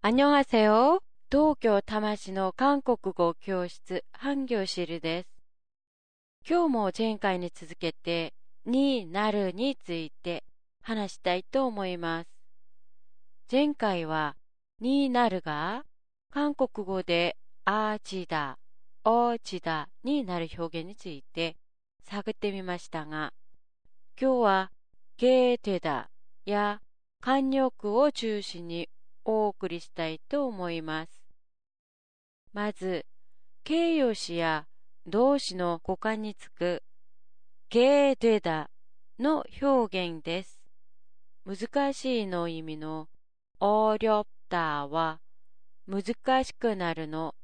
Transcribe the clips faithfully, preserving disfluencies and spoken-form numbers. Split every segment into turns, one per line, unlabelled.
안녕하세요. 東京多摩市の韓国語教室、ハンギョシルです。今日も前回に続けて、になるについて話したいと思います。前回は、になるが、韓国語であちだ、おちだになる表現について探ってみましたが、今日は、ゲーテだや慣用句を中心にお送りしたいと思います。まず、形容詞や動詞の語幹につくゲーデだの表現です。難しいの意味の어렵다は難しくなるの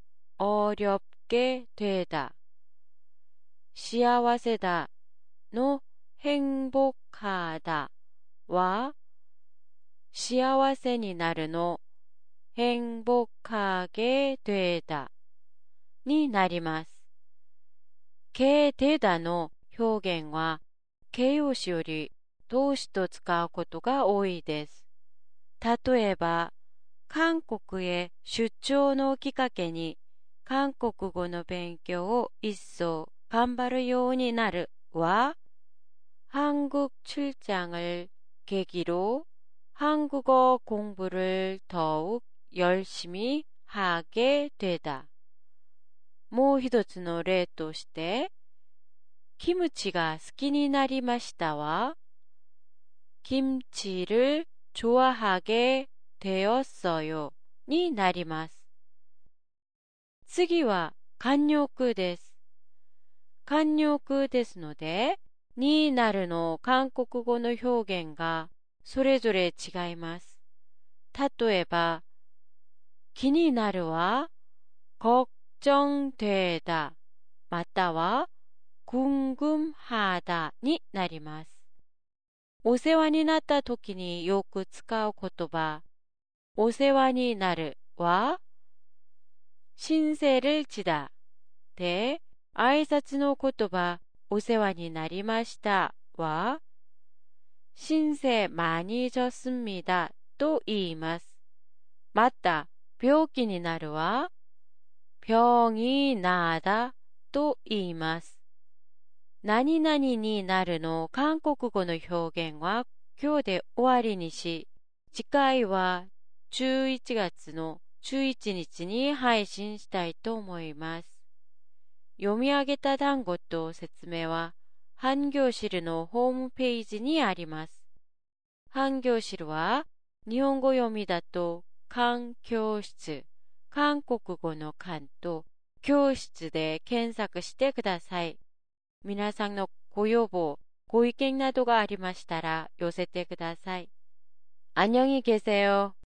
어렵게되다幸せだの행복하다は幸せになるの행복하게 되다になります。けでだの表現は形容詞より動詞と使うことが多いです。例えば、韓国へ出張のきっかけに韓国語の勉強を一層頑張るようになるは、한국 출장을 계기로 한국어 공부를 더욱 열심히 하게 되다。もう一つの例として、キムチが好きになりましたは、김치를 좋아하게 되었어요になります。次は慣用句です。慣用句ですので、になるの韓国語の表現がそれぞれ違います。例えば、気になるは、걱정되다または궁금하다になります。お世話になった時によく使う言葉、お世話になるは、신세를 지다で、挨拶の言葉、お世話になりましたは、신세 많이 졌습니다と言います。また、病気になるは、병이 나다と言います。何々になるの韓国語の表現は今日で終わりにし、次回はじゅういちがつのじゅういちにちに配信したいと思います。読み上げた単語と説明は、ハンギョシルのホームページにあります。ハンギョシルは、日本語読みだと、韓教室、韓国語の韓と教室で検索してください。皆さんのご要望、ご意見などがありましたら寄せてください。안녕히 계세요。